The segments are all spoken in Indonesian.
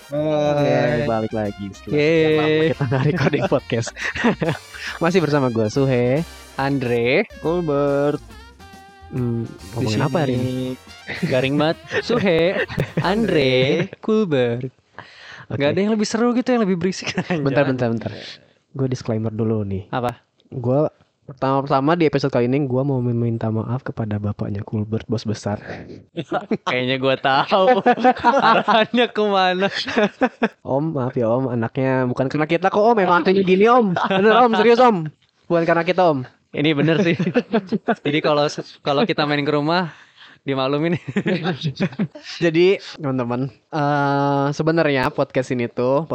Hai. Balik lagi setelah sekian lama kita nggak recording podcast. Masih bersama gue Suhe, Andre, Colbert. Ngomongin apa hari ini? garing banget. Suhe, Andre, Kulber. Oke. Gak ada yang lebih seru gitu, yang lebih berisik. Bentar. Gue disclaimer dulu nih. Apa? Gue pertama di episode kali ini gue mau meminta maaf kepada bapaknya Kulbert, bos besar. Kayaknya gue tahu arahnya kemana. Om, maaf ya om, anaknya bukan karena kita kok om, memang anaknya gini om. Bener om, serius om. Bukan karena kita om. Ini bener sih. Jadi kalau kita main ke rumah dimaklumin. Jadi teman-teman, sebenarnya podcast ini tuh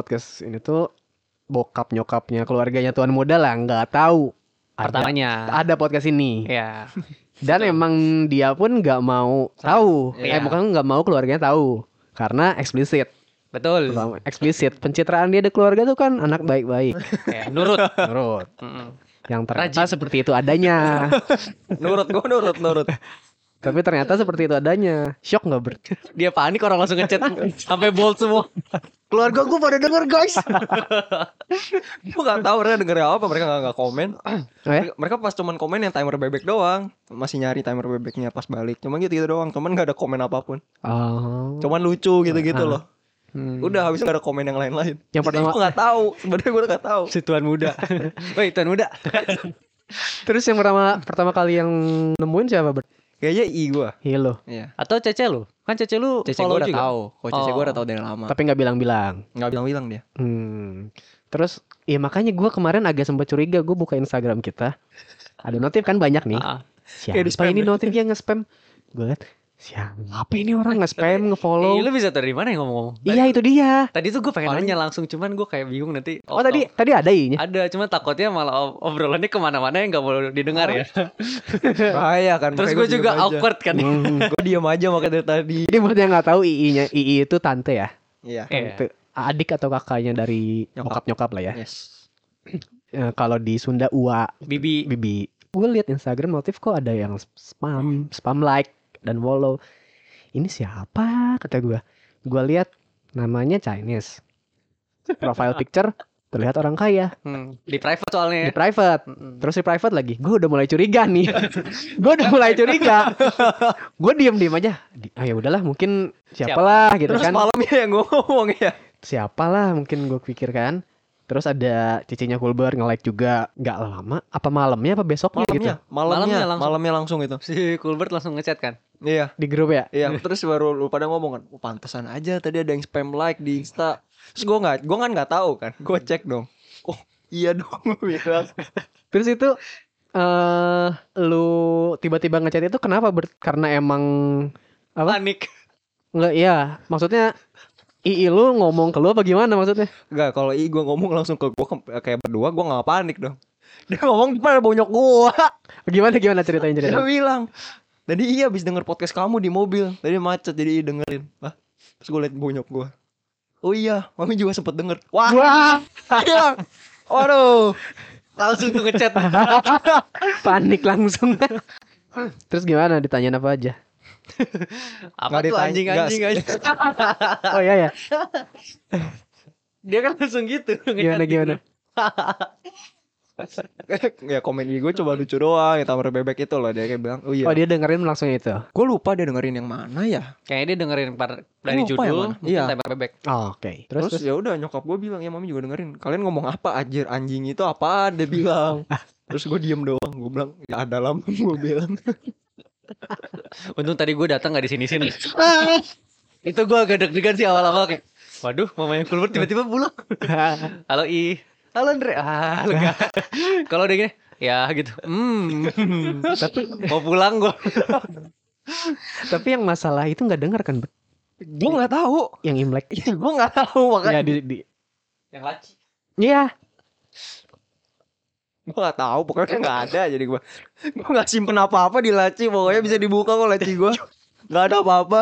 bokap nyokapnya keluarganya Tuan Muda lah nggak tahu Pertamanya. ada podcast ini. Ya. Dan emang dia pun nggak mau tahu, Iya. bukan nggak mau keluarganya tahu karena eksplisit. Betul. Pertama, eksplisit pencitraan dia di keluarga tuh kan anak baik-baik. Ya, nurut. Menurut Mm-mm. yang ternyata seperti itu adanya. Nurut. Tapi ternyata seperti itu adanya. Shock nggak Bert? Dia panik, orang langsung ngechat sampai bold semua. Keluarga gue pada denger guys. Gue gak tahu mereka denger apa. Mereka gak komen. Oh ya? Mereka pas cuman komen yang timer bebek doang. Masih nyari timer bebeknya pas balik. Cuman gitu doang. Cuman gak ada komen apapun. Oh. Cuman lucu gitu loh. Udah Habis itu gak ada komen yang lain-lain. Yang pertama- gue gak tahu. Sebenarnya gue gak tahu. Si Tuan Muda. Woi, Tuan Muda. Terus yang pertama kali yang nemuin siapa Bert? Kayaknya gue. Hilo. Iya. Atau Cece lu? Kan Cece lu Cece follow gue udah juga. tahu. Kok Cece gue Oh. udah tahu dari lama. Tapi nggak bilang-bilang. Gak bilang-bilang dia. Terus ya makanya gue kemarin agak sempat curiga. Gue buka Instagram kita, ada notif kan banyak nih. Ah. Kayak di Siapa spam ini ya? notifnya nge-spam? Gue liat siapa ini orang nge-spam, Lu nge-follow. bisa tahu dari mana yang ngomong-ngomong? Iya itu dia. Tadi tuh gue pengen Paling- nanya langsung, cuman gue kayak bingung nanti. Oh tadi ada i-nya. Ada, cuma takutnya malah obrolannya kemana-mana yang gak boleh didengar ya. Bahaya kan. Terus gue juga awkward kan. Gue diem aja makanya dari tadi. Jadi buat yang nggak tahu II-nya, II itu tante ya. Iya. Iya. Itu adik atau kakaknya dari nyokap lah ya. Yes. Kalau di Sunda Ua, Bibi. Bibi. Gue lihat Instagram notif kok ada yang spam like dan follow. Ini siapa kata gue. Gue lihat namanya Chinese. Profile picture terlihat orang kaya Di private soalnya. di private. Mm-mm. Terus di private lagi. Gue udah mulai curiga nih. Gue diem aja. Ya udahlah mungkin siapalah gitu Terus kan. malamnya yang gue ngomong ya. Siapalah mungkin gue pikir kan. Terus ada cicinya Kulber nge-like juga. Gak lama. Apa malamnya apa besoknya gitu. Malamnya langsung itu. Si Kulbert langsung ngechat kan. Iya. Di grup ya. Iya, terus baru lu pada ngomong kan, oh, pantesan aja tadi ada yang spam like di Insta. Terus gue kan nggak tahu kan, gue cek dong. Oh iya dong, gue bilang. Terus itu lu tiba-tiba ngechat itu kenapa karena emang apa? Panik. Enggak ya, maksudnya II lu ngomong ke lu apa gimana maksudnya? Enggak, kalau gue ngomong langsung ke gue kayak berdua, gue nggak panik dong. Dia ngomong pada bonyok gue. Gimana ceritain Dia bilang, tadi iya abis denger podcast kamu di mobil, tadi macet jadi dengerin. Lah, terus gue liat bonyok gue. Oh iya, mami juga sempet denger. Wah, iya. Waduh, Langsung tuh ngechat. panik langsung. Terus gimana, ditanyain apa aja? Apa Nggak tuh ditanya, anjing. Oh iya ya. Dia kan langsung gitu. Gimana? ya komen gue coba lucu doang, ya tamer bebek itu loh, dia kayak bilang, oh iya. Oh dia dengerin langsung itu. Gue lupa dia dengerin yang mana ya. Kayaknya dia dengerin dari Lupa yang judul. mana? Mungkin Iya. Tempe bebek. Oh, oke. Terus ya udah nyokap gue bilang ya mami juga dengerin. Kalian ngomong apa anjing itu apa? Dia bilang. Terus gue diem doang. Gue bilang ya ada lama gue bilang. Untung tadi gue datang gak di sini. Itu gue agak deg-degan sih awal-awal kayak, waduh, mamanya Kulbert tiba-tiba pulang. Halo halo Andre. Lega. Kalau udah gini, ya gitu. Tapi mau pulang gue. Tapi yang masalah itu nggak dengar kan? Gue nggak tahu. Yang Imlek. Ya gue nggak tahu Ya makanya. Yang laci. Iya. Gue nggak tahu. Pokoknya nggak ada. Jadi gue nggak simpen apa-apa di laci. Pokoknya bisa dibuka kok laci gue. Nggak ada apa-apa.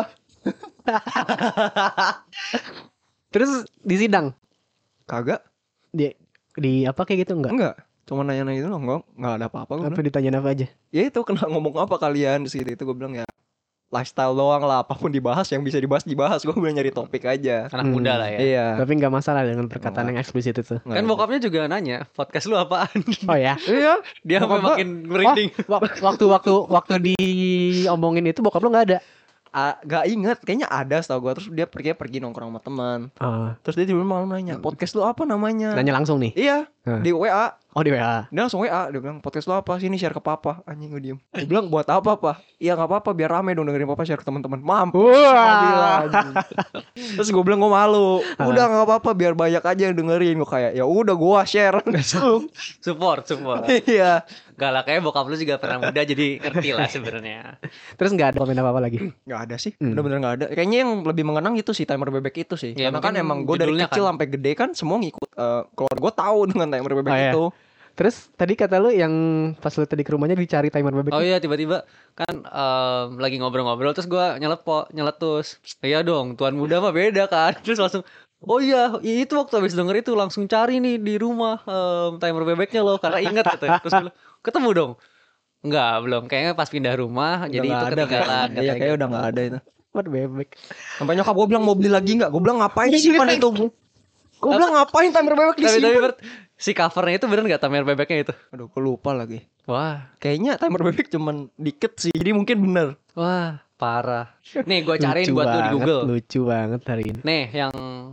Terus di sidang Kagak. di apa kayak gitu Enggak. Cuma nanya-nanya itu nggak ada apa-apa. Gue Apa ditanyain apa aja? ya itu kena ngomong apa kalian. Terus gitu itu gue bilang ya lifestyle doang lah, apapun dibahas yang bisa dibahas. Gue bilang nyari topik aja. Anak muda lah ya. Iya. Tapi nggak masalah dengan perkataan yang eksplisit itu. Kan bokapnya juga nanya, podcast lu apaan? Oh ya. Iya. Dia sampai Bokap gua- makin merinding. Waktu diomongin itu bokap lu nggak ada. Gak inget, kayaknya ada setahu gue. Terus dia pergi nongkrong sama teman. Ah, Terus dia tiba-tiba malah nanya, podcast lu apa namanya? nanya langsung nih. Iya, Hah. di WA. Oh di WA. Dia langsung WA, dia bilang podcast lu apa? Sini share ke papa. Anjing gue diem. Gue bilang buat apa pak? Iya nggak apa-apa, biar rame dong dengerin papa share ke teman-teman. Mampus. Gua bilang, anjing. Terus gue bilang gue malu. Udah nggak apa-apa, biar banyak aja yang dengerin. Gue kayak ya udah gue share. Support. Iya. Gak lah, kayak bokap lu juga pernah muda jadi ngerti lah sebenarnya. Terus nggak ada komen apa-apa lagi. Nggak ada sih, bener-bener nggak ada. Kayaknya yang lebih mengenang itu sih timer bebek itu sih. Ya, Karena kan mungkin emang gue dari judulnya kecil kan. sampai gede kan semua ngikut. Keluarga gue tahu dengan timer bebek Oh, iya. itu. Terus tadi kata lu yang pas lu tadi ke rumahnya dicari timer bebek. Oh iya, tiba-tiba kan lagi ngobrol-ngobrol terus gua nyeletus. Iya dong, tuan muda mah beda kan. Terus langsung oh iya, itu waktu habis denger itu langsung cari nih di rumah timer bebeknya loh karena inget katanya. Terus gua bilang, ketemu dong. Enggak, belum. Kayaknya pas pindah rumah jadi itu ketinggalan. Iya kayaknya udah nggak ada itu. Timer bebek. Sampai nyokap gue bilang mau beli lagi nggak? Gue bilang ngapain simpan itu? Gue bilang ngapain timer bebek Tapi disimpan? Bert, si covernya itu bener nggak timer bebeknya itu? Aduh, gue lupa lagi. Wah, Kayaknya timer bebek cuman dikit sih, jadi mungkin bener. wah, parah. Nih gua cariin Lucu buat lu di banget, Google. Lucu banget hari ini. Nih, yang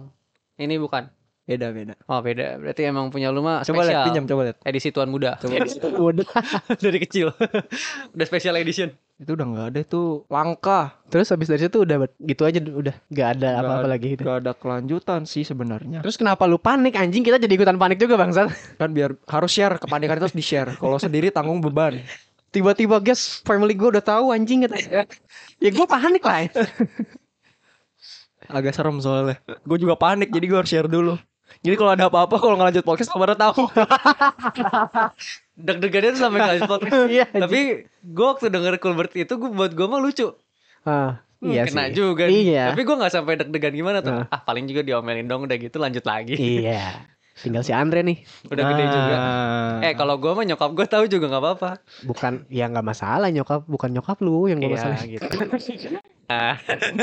ini bukan. Beda. Oh, beda. Berarti emang punya lu mah Coba lihat, spesial. pinjam, coba lihat. Edisi Tuan Muda. Udah. Dari kecil. Udah special edition. Itu udah nggak ada, itu langka. Terus habis dari situ udah gitu aja, udah nggak ada Nggak apa-apa ada- lagi gitu. Nggak ada kelanjutan sih sebenarnya. Terus kenapa lu panik anjing? Kita jadi ikutan panik juga bangsat. Kan biar harus share, kepanikan itu harus di-share. Kalau sendiri tanggung beban. Tiba-tiba guys, family gue udah tahu anjing katanya. Ya gue panik lah. Agak serem soalnya. Gue juga panik, jadi gue harus share dulu. Jadi kalau ada apa-apa, kalau nggak lanjut podcast, kamu tahu. Deg-degannya tuh sampai nggak podcast. Iya. Tapi gue waktu denger Kulbert itu buat gue mah lucu. Iya Kena sih. juga. Iya. Tapi gue nggak sampai deg-degan gimana tuh. Nah. Paling juga diomelin dong udah gitu lanjut lagi. Iya. Tinggal si Andre nih. Udah gede juga. Nah. Kalau gue mah nyokap gue tahu juga nggak apa-apa. Bukan, ya nggak masalah nyokap, bukan nyokap lu yang gue Iya masalah. gitu. Nah.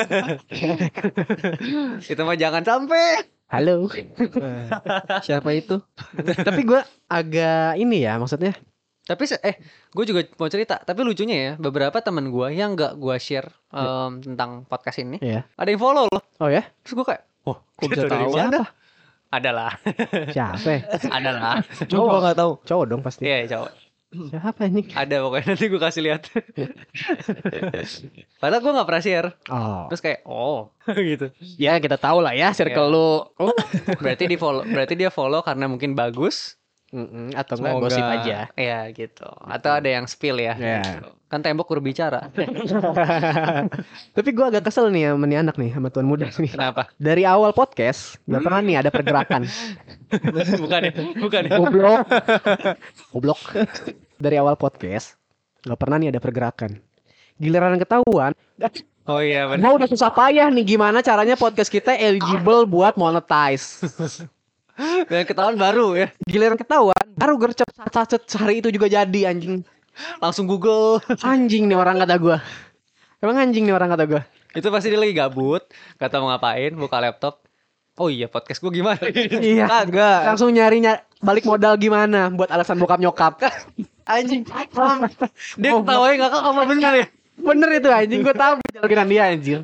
Itu mah jangan sampai. Halo. Siapa itu? Tapi gue agak ini ya, maksudnya. Tapi gue juga mau cerita. Tapi lucunya ya, beberapa teman gue yang nggak gue share tentang podcast ini, Iya. ada yang follow loh. Oh ya? Terus gue kayak, oh, Kok bisa itu dari tahu? mana? Adalah, Siapa? adalah. Coba nggak tahu. Cowok dong pasti. Iya, cowok. Siapa anjing? Ada pokoknya nanti gue kasih lihat. Padahal gue nggak pernah share. Oh. Terus kayak, oh, gitu. Ya kita tahu lah ya circle lu. Oh. Berarti dia follow karena mungkin bagus. Atau enggak Semoga. gosip aja. Ya gitu. Atau ada yang spill ya. Ya. Gitu. Kan tembok berbicara. Tapi gue agak kesel nih sama nih anak nih, sama tuan muda nih. Kenapa? Dari awal podcast nggak pernah nih ada pergerakan. Bukan ya? Bukan ya? Goblok. Goblok. Dari awal podcast nggak pernah nih ada pergerakan. Giliran ketahuan, Oh iya benar. gua udah susah payah nih gimana caranya podcast kita eligible buat monetize. Dan ketahuan baru ya. Giliran ketahuan, baru gercep sacet hari itu juga jadi anjing. Langsung Google. Anjing nih orang kata gua. Emang anjing nih orang kata gua. Itu pasti dia lagi gabut, gak tau mau ngapain, buka laptop. Oh iya, podcast gue gimana? Iya. Kagak. Langsung nyari balik modal gimana buat alasan bokap nyokap. Anjing. Dia ketawain gak kok apa benar ya? Bener itu anjing, gua tahu jalokiran dia anjing.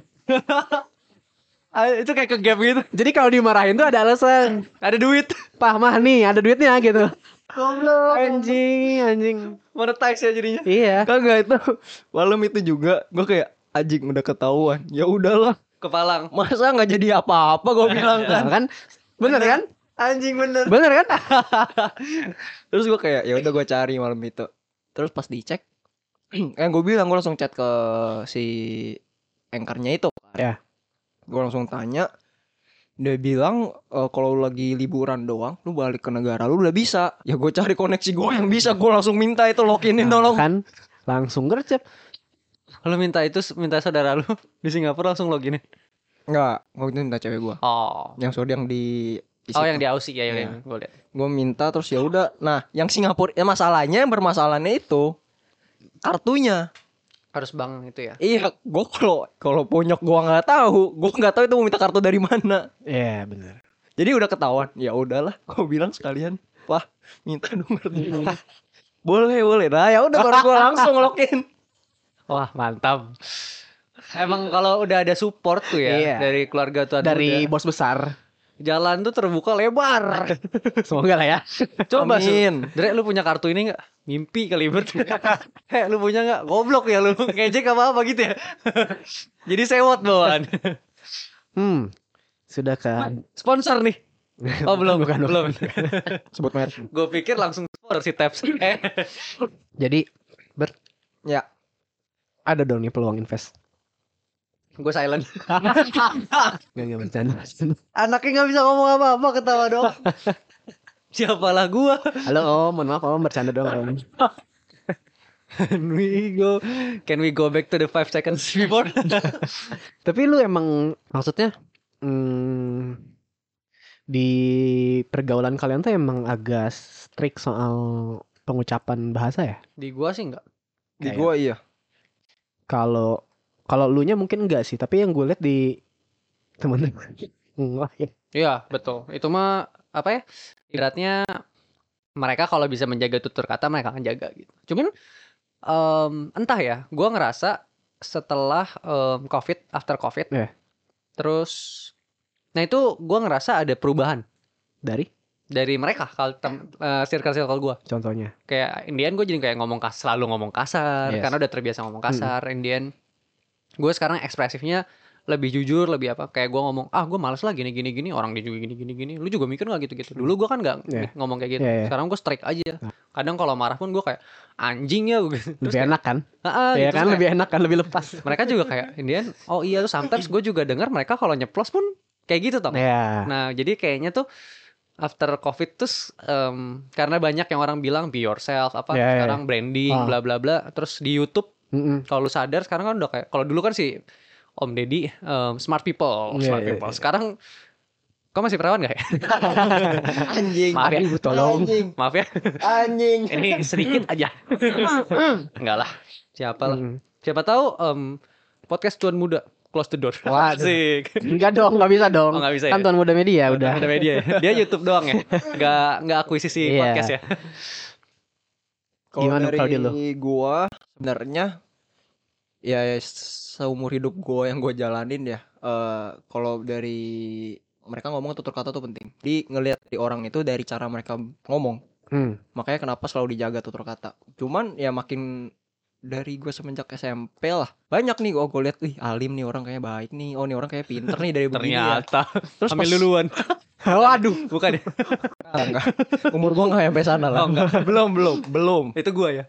Itu kayak ke gap gitu. Jadi kalau dimarahin tuh ada alasan. Ada duit. Pah mah nih ada duitnya gitu. Goblok. Anjing. Monetize ya jadinya. Iya. Kagak itu. Malam itu juga gue kayak anjing udah ketahuan. Ya udahlah. Kepalang. Masa nggak jadi apa-apa gue bilang Nah, kan. kan bener kan? Anjing bener. Bener kan? Terus gue kayak ya udah gue cari malam itu. Terus pas dicek, yang gue bilang gue langsung chat ke si anchornya itu. Ya. Gue langsung tanya. Dia bilang kalau lu lagi liburan doang, lu balik ke negara lu udah bisa. Ya gue cari koneksi gue yang bisa, gue langsung minta itu loginin tolong. Kan langsung gercep. Lu minta saudara lu di Singapura langsung login. Enggak, gue itu minta cewek gue. Oh. Yang sudah yang di Oh yang di Aussie ya, Iya. gue lihat. Gue minta terus ya udah. Nah, yang Singapura masalahnya yang bermasalahnya itu kartunya. Harus bank itu ya. Iya, gue kalau bonyok gue nggak tahu itu mau minta kartu dari mana. Iya benar. Jadi udah ketahuan, ya udahlah, gue bilang sekalian, Pak, minta nomor dulu. Boleh. Nah, ya udah baru gue langsung ngelokin. Wah, mantap. Emang kalau udah ada support tuh ya Iya. dari keluarga tuh Dari bos besar. jalan tuh terbuka lebar. Semoga lah ya. Coba Amin. Dre, lu punya kartu ini nggak? Mimpi kali Bert. Lu punya nggak? Goblok ya lu. Ngejek apa gitu ya. Jadi sewot bawaan. Sudah Sponsor nih. Oh belum, Bukan. belum. Sebut merek. Gue pikir langsung sponsor si Taps. Jadi Ya, ada dong nih peluang invest. Gue silent. Gak bercanda. Anaknya nggak bisa ngomong apa-apa, ketawa dong. Siapalah gua. Halo Om, mohon maaf Om, bercanda dong Om. Can we go back to the 5 seconds before? Tapi lu emang maksudnya di pergaulan kalian tuh emang agak strict soal pengucapan bahasa ya? Di gua sih enggak. di Kayak- gue iya. Kalau lu nya mungkin enggak sih, tapi yang gue lihat di teman-teman enggak ya. Iya, betul. Itu mah apa ya? Ibaratnya mereka kalau bisa menjaga tutur kata mereka akan jaga gitu. Cuman entah ya, gua ngerasa setelah after COVID, Iya. terus nah itu gua ngerasa ada perubahan Dari mereka kalau circle gua. contohnya. Kayak Indian gue jadi kayak selalu ngomong kasar Yes. karena udah terbiasa ngomong kasar. Indian gue sekarang ekspresifnya lebih jujur, lebih apa, kayak gue ngomong gue males lah gini orang dia juga gini lu juga mikir nggak gitu dulu gue kan nggak Yeah. ngomong kayak gitu. Yeah, yeah. Sekarang gue strike aja. Kadang kalau marah pun gue kayak anjing ya gitu. Lebih enak kan? gitu. Iya kan, Terus lebih enak kan, lebih lepas. kayak, mereka juga kayak Indian oh iya tuh sometimes gue juga dengar mereka kalau nyeplos pun kayak gitu toh. Iya. Nah jadi kayaknya tuh after COVID terus karena banyak yang orang bilang be yourself apa Yeah, yeah. sekarang branding Ah. bla bla bla, terus di YouTube kalau lu sadar sekarang kan udah kayak kalau dulu kan si Om Deddy smart people. Yeah, yeah, yeah. Sekarang kau masih perawan gak ya? Anjing. Maaf ya. Ibu tolong. Maaf ya. Anjing. Ini sedikit aja. Enggak lah. Siapa lah. Mm. Siapa tahu podcast Cuan Muda close the door. Waduh. Asik. Enggak dong, enggak bisa dong. Oh, nggak bisa Kan ya? Tuan Muda Media udah. Ada media ya. Dia YouTube doang ya. Enggak akuisisi Iya. podcast ya. Kalau Gimana dari kalau di lu? gua sebenarnya ya seumur hidup gua yang gua jalanin ya, kalau dari mereka ngomong tutur kata tuh penting. Di ngelihat di orang itu dari cara mereka ngomong. Makanya kenapa selalu dijaga tutur kata. Cuman ya makin dari gue semenjak SMP lah banyak nih gue lihat, wih Alim nih orang kayaknya baik nih, oh nih orang kayak pinter nih dari begini ya. Ternyata. Terus Ambil pas duluan. Waduh. Bukan ya? enggak, umur gue nggak sampai sana lah. Oh, enggak. belum. Itu gua ya.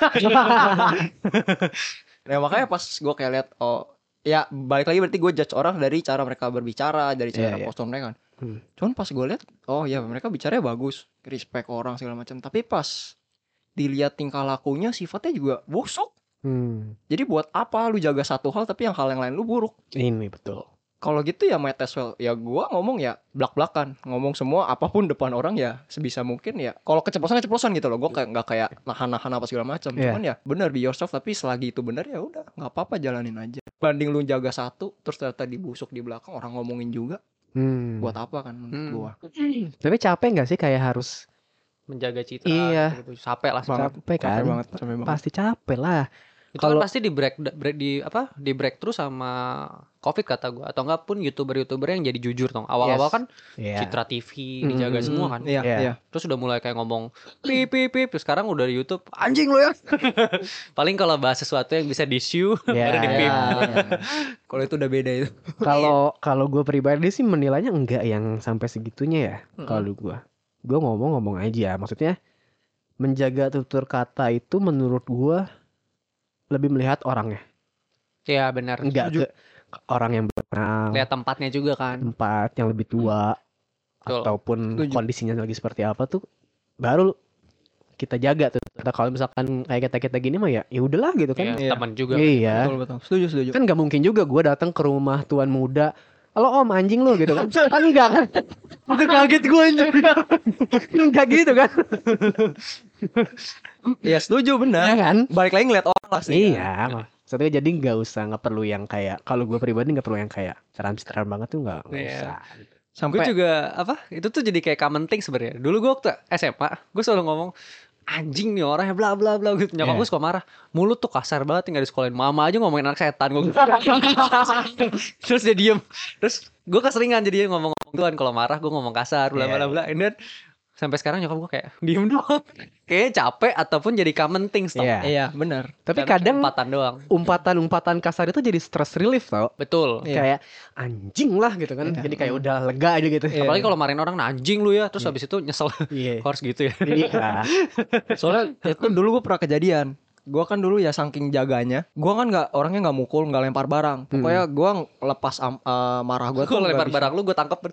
Nah makanya pas gue kayak lihat, oh ya balik lagi berarti gue judge orang dari cara mereka berbicara, dari cara Iya, iya. postur mereka kan. Cuman pas gue lihat, oh ya mereka bicaranya bagus, respect orang segala macam. Tapi pas dilihat tingkah lakunya, sifatnya juga busuk. Jadi buat apa lu jaga satu hal tapi hal yang lain lu buruk? Ini betul. Kalau gitu ya might as well ya gua ngomong ya blak-blakan, ngomong semua apapun depan orang ya sebisa mungkin ya. Kalau keceplosan gitu loh, gua kayak nggak kayak nahan-nahan apa segala macam. Iya. Cuman ya benar be yourself, tapi selagi itu benar ya udah nggak apa-apa, jalanin aja. Banding lu jaga satu terus ternyata dibusuk di belakang orang ngomongin juga, buat apa kan menurut gua. Tapi capek nggak sih kayak harus Menjaga citra. Iya. Gitu. Capek lah. capek kan? Capek banget. Pasti capek lah. Itu Kalau- kan pasti di breakthrough sama COVID kata gue, atau enggak pun youtuber yang jadi jujur dong. Awal-awal Yes. kan Iya. Citra TV dijaga semua kan. Iya, Iya. iya. Terus udah mulai kayak ngomong pip, terus sekarang udah di YouTube anjing lo ya. Paling kalau bahas sesuatu yang bisa di-sue Iya, baru di pip. Iya. Kalau itu udah beda itu. Kalau gue pribadi sih menilainya enggak yang sampai segitunya ya. Kalau gue ngomong aja. Maksudnya menjaga tutur kata itu menurut gue lebih melihat orangnya, Iya benar. enggak ke orang yang berkenal, Lihat tempatnya juga kan. tempat yang lebih tua, Betul. ataupun Setuju. kondisinya lagi seperti apa tuh, baru kita jaga tuh. Kalau misalkan kayak kita gini mah ya udahlah gitu kan. Iya, Iya. teman juga. Iya. Betul. Setuju. Kan nggak mungkin juga gue datang ke rumah tuan muda, halo om anjing lu gitu kan. Kan enggak kan. Udah kaget gue anjing. Enggak gitu kan. Iya setuju Ya benar. kan. Balik lagi ngeliat orang lah sih. Iya. Maksudnya jadi nggak perlu yang kayak, kalau gue pribadi nggak perlu yang kayak ceram banget tuh nggak Iya. usah. Gue Sampai juga itu tuh jadi kayak common thing sebenarnya. Dulu gue waktu SMA, gue selalu ngomong anjing nih orangnya bla bla bla gitu. Nyokap Iya. gue suka marah. Mulut tuh kasar banget nggak disekolahin. Mama aja ngomongin anak setan gue. Terus dia diem. Terus gue keseringan jadi ngomong-ngomong tuan kalau marah gue ngomong kasar bla bla bla. And then sampai sekarang nyokap gue kayak diem doang. Kayaknya capek ataupun jadi common things tau. Iya. iya benar. Tapi Karena kadang umpatan doang. umpatan kasar itu jadi stress relief tau. Betul. Iya. Kayak anjing lah gitu kan. Iya. Jadi kayak udah lega aja gitu. Iya. Apalagi kalau marahin orang "Nah, anjing lu ya. Terus habis itu nyesel. Iya. Kok harus gitu ya. Iya. Soalnya itu dulu gue pernah kejadian. Gue kan dulu ya saking jaganya, gue kan orangnya nggak mukul, nggak lempar barang. Pokoknya gue lepas marah gue tuh Gue nggak lempar bisa. barang lu gue tangkep.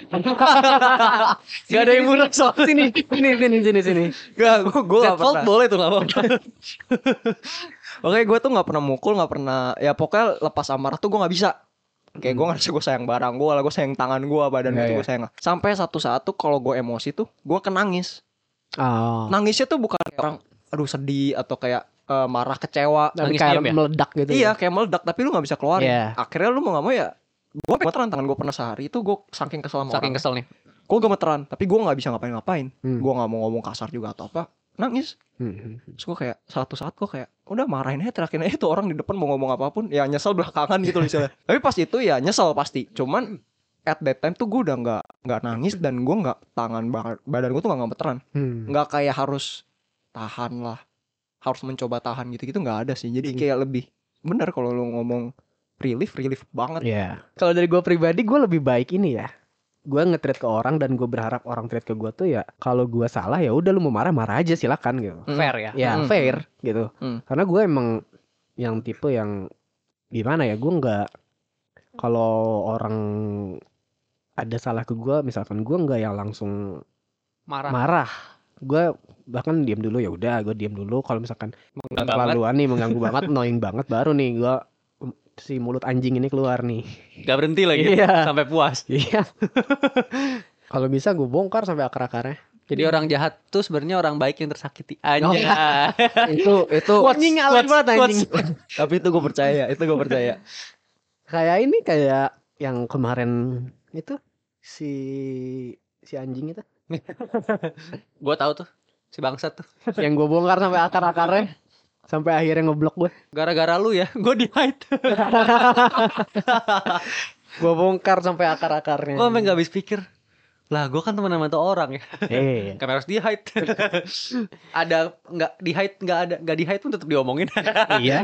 Gak ada yang murah soal sini. Sini. Gak, gue That gak fault pernah. boleh tuh gak apa-apa. Pokoknya gue tuh gak pernah mukul, gak pernah. Ya pokoknya lepas amarah tuh gue gak bisa. Kayak gue ngerasa gue sayang barang gue, gue sayang tangan gue, badan gue Iya, tuh gue sayang. Sampai satu saat tuh kalau gue emosi tuh, gue nangis. Oh. Nangisnya tuh bukan kayak orang, aduh sedih atau kayak marah, kecewa. Tapi Nangis kayak diam ya? meledak gitu. Iya, kayak meledak tapi lu gak bisa keluarin. Iya. Akhirnya lu mau gak mau ya, gue gemeteran tangan gue pernah sehari itu gue saking kesel sama Saking orang. kesel nih. Gue gemeteran, tapi gue gak bisa ngapain-ngapain. Hmm. Gue gak mau ngomong kasar juga atau apa. Nangis. Terus gue kayak satu saat gue kayak udah marahin aja, terakhir aja tuh orang di depan mau ngomong apapun. Ya nyesel belakangan gitu misalnya. Tapi pas itu ya nyesel pasti. Cuman at that time tuh gue udah nggak nangis dan gue nggak badan gue tuh nggak gemeteran. Nggak kayak harus tahan lah, harus mencoba tahan gitu-gitu nggak ada sih. Jadi kayak lebih bener kalau lu ngomong relief banget. Iya. Kalau dari gue pribadi, gue lebih baik ini ya. Gue nge-treat ke orang dan gue berharap orang treat ke gue tuh ya, kalau gue salah ya udah lu mau marah aja silakan gitu. Fair ya. Ya fair gitu. Karena gue emang yang tipe yang gimana ya, gue nggak, kalau orang ada salah ke gue misalkan, gue nggak yang langsung marah. Gue bahkan diam dulu, ya udah gue diam dulu. Kalau misalkan terlaluan nih, mengganggu banget, annoying banget, baru nih gue si mulut anjing ini keluar nih. Gak berhenti lagi. Iya. Sampai puas. Iya. Kalau bisa gue bongkar sampai akar-akarnya. Jadi orang jahat tuh sebenarnya orang baik yang tersakiti. Anjing. Itu Anjing alay banget anjing. tapi itu gue percaya. Kayak ini, kayak yang kemarin itu si anjing itu Gue tahu tuh si bangsat tuh. yang gue bongkar sampai akar-akarnya, sampai akhirnya ngeblok gue. Gara-gara lu ya, gue di hide. Gue bongkar sampai akar-akarnya. Gue sampai nggak habis pikir. Lah, gue kan teman sama tuh orang ya. Kamera harus di hide. Ada nggak di hide, nggak di hide pun tetap diomongin. Iya.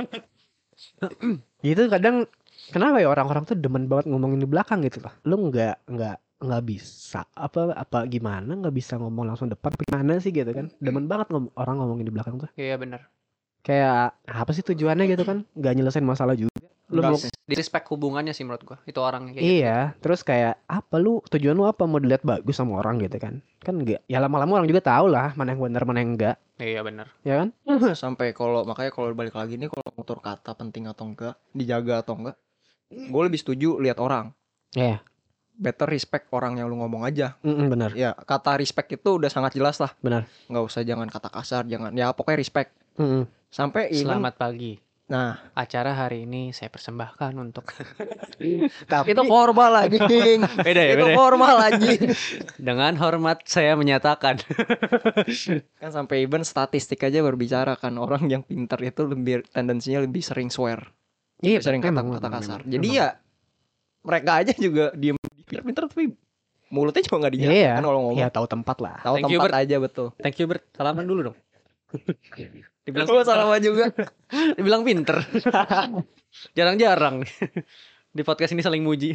Gitu kadang, kenapa ya orang-orang tuh demen banget ngomongin di belakang gitu loh. Lu nggak bisa apa gimana, nggak bisa ngomong langsung depan gimana sih gitu kan. Demen banget orang ngomongin di belakang tuh. Iya benar. Kayak apa sih tujuannya gitu kan? Nggak nyelesain masalah juga. Lu mau Di respect hubungannya sih menurut gue. Itu orangnya kayak gitu. iya, terus kayak apa tujuan lu apa, mau dilihat bagus sama orang gitu kan? Kan enggak. Ya lama-lama orang juga tahu lah mana yang benar mana yang enggak, Iya benar. ya kan? Sampai makanya kalau balik lagi nih, kalau ngutur kata penting atau enggak, dijaga atau enggak, gue lebih setuju lihat orang. Iya. Better respect orang yang lu ngomong aja. Benar. Ya kata respect itu udah sangat jelas lah. Benar. Nggak usah, jangan kata kasar, jangan, ya pokoknya respect. Sampai even, Selamat pagi. nah Acara hari ini saya persembahkan untuk Tapi itu formal anjing. beda ya, Itu beda ya? formal anjing. Dengan hormat saya menyatakan. Kan sampai even statistik aja berbicara kan, orang yang pintar itu lebih tendensinya lebih sering swear, iya, sering memang, kata memang, kasar. memang. Jadi ya mereka aja juga diem, pintar tapi mulutnya juga nggak dijaga Iya. kan kalau ngomong. Ya tahu tempat lah. Tahu Thank you, tempat Bert. aja, betul. Thank you Bert. Salaman dulu dong. Dibilang Gue salah juga. Dibilang pinter. Jarang-jarang di podcast ini saling muji.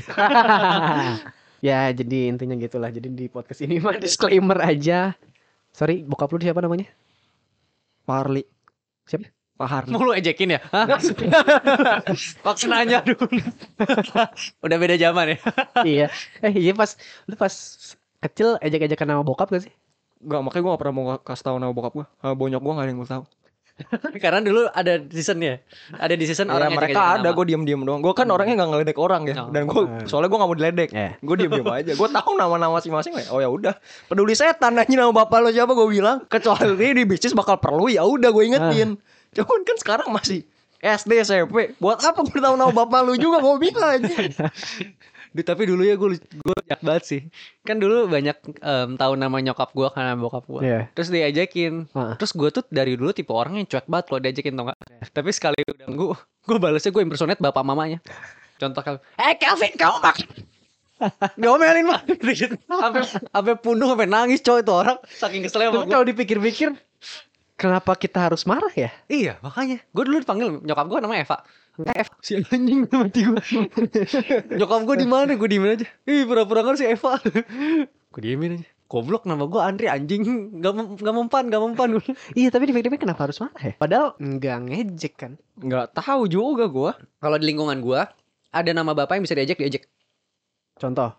Ya jadi intinya gitulah. Jadi di podcast ini mah disclaimer aja. Sorry, bokap lu siapa namanya? Parli. Siapa? Pak Harli. Mau lu ejekin ya? Hah? Waktu nanya dulu. Udah beda zaman ya. Iya. Iya pas lu pas kecil ejek-ejekan nama bokap gak sih? Gak, makanya gue gak pernah mau kasih tahu nama bokap gue. Bonyok gue gak ada yang gue tahu. Karena dulu ada seasonnya. Ada di season Ya, orang mereka ada, gue diem doang. Gue kan orangnya gak ngeledek orang ya. Oh. Dan gue soalnya gue gak mau diledek. Gue diem aja. Gue tahu nama-nama masing-masing. Oh ya udah, peduli setan nanya nama bapak lo siapa, gue bilang. Kecuali di bisnis bakal perlu, ya udah gue ingetin. Cuman kan sekarang masih SD SMP. Buat apa gue tahu nama bapak lu juga mau bilang aja. Tapi dulu ya gue banyak banget sih. Kan dulu banyak tahu nama nyokap gue karena bokap gue. Iya. Terus diajakin. Terus gue tuh dari dulu tipe orang yang cuek banget kalau diajakin tau gak. Tapi sekali udah gue balesnya gue impersonate bapak mamanya. Contoh Calvin. Calvin kamu makan. Diomelin mah. Sampai punduh sampai nangis coy itu orang. Saking keselnya sama Tapi gue. kalau dipikir-pikir, kenapa kita harus marah ya? Iya makanya. Gue dulu dipanggil nyokap gue namanya Eva. Eva si anjing mati gue. Nyokap gue di mana? Gue diemin aja. Ih pura-pura kan si Eva. Gue diemin aja. Goblok nama gue Andri anjing. Gak mempan. Iya, tapi dipikir-pikir kenapa harus marah ya? Padahal nggak ngejek kan. Nggak tahu juga gue. Kalau di lingkungan gue ada nama bapak yang bisa diajak. Contoh.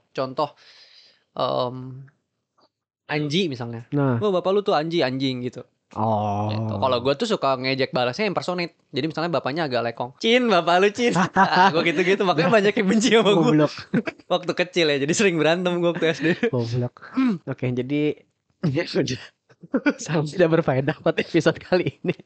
Anji misalnya. Nah. Oh bapak lu tuh anjing gitu. Oh. Gitu. Kalau gue tuh suka ngejek balasnya impersonate. Jadi misalnya bapaknya agak lekong. Cin, bapak lu Cin. Gue gitu-gitu. Makanya banyak yang benci sama gue. Goblok. Waktu kecil ya. Jadi sering berantem gue waktu SD. Goblok. Oke, jadi sangat tidak berfaedah buat episode kali ini.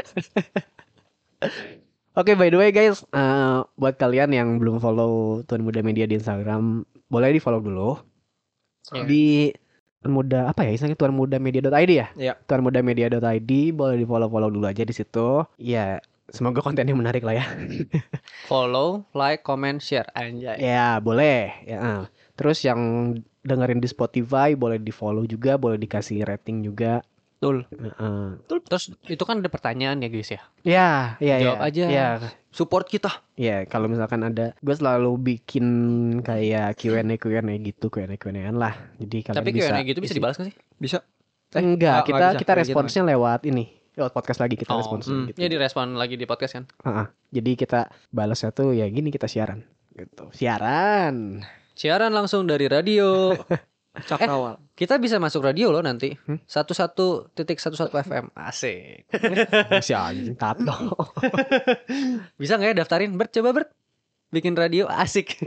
Oke, by the way guys, buat kalian yang belum follow Tuan Muda Media di Instagram, boleh di follow dulu. Di Tuan Muda apa ya istilahnya, tuanmudamedia.id ya? Iya. Tuanmudamedia.id, boleh di follow dulu aja di situ. Ya, semoga kontennya menarik lah ya. Follow, like, comment, share. Anjay. Ya, boleh. Ya. Terus yang dengerin di Spotify boleh di follow juga, boleh dikasih rating juga. Betul. Terus itu kan ada pertanyaan ya guys ya. Ya. Jawab aja. Ya. Support kita. Ya, kalau misalkan ada, gue selalu bikin kayak Q&A gitu, Q&A-an lah. Jadi kalian Tapi bisa Q&A gitu bisa dibalas gak sih? Bisa. Enggak, nggak kita bisa. responsnya lewat ini. Lewat podcast lagi kita responsnya gitu. Ya direspon lagi di podcast kan. Jadi kita balasnya tuh ya gini, kita siaran gitu. Siaran langsung dari radio. Cakrawala. Kita bisa masuk radio loh nanti. 11.11 FM. Asik. si anjing tato. Bisa gak ya daftarin? Bert, coba Bert. Bikin radio asik.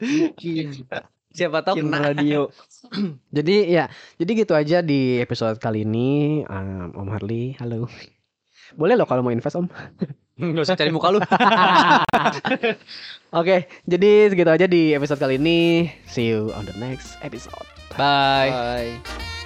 Siapa tahu Bikin kena. radio. Jadi gitu aja di episode kali ini. Om Harley, halo. Boleh loh kalau mau invest Om. Gak usah cari muka lu. Oke, jadi segitu aja di episode kali ini. See you on the next episode. Bye. Bye.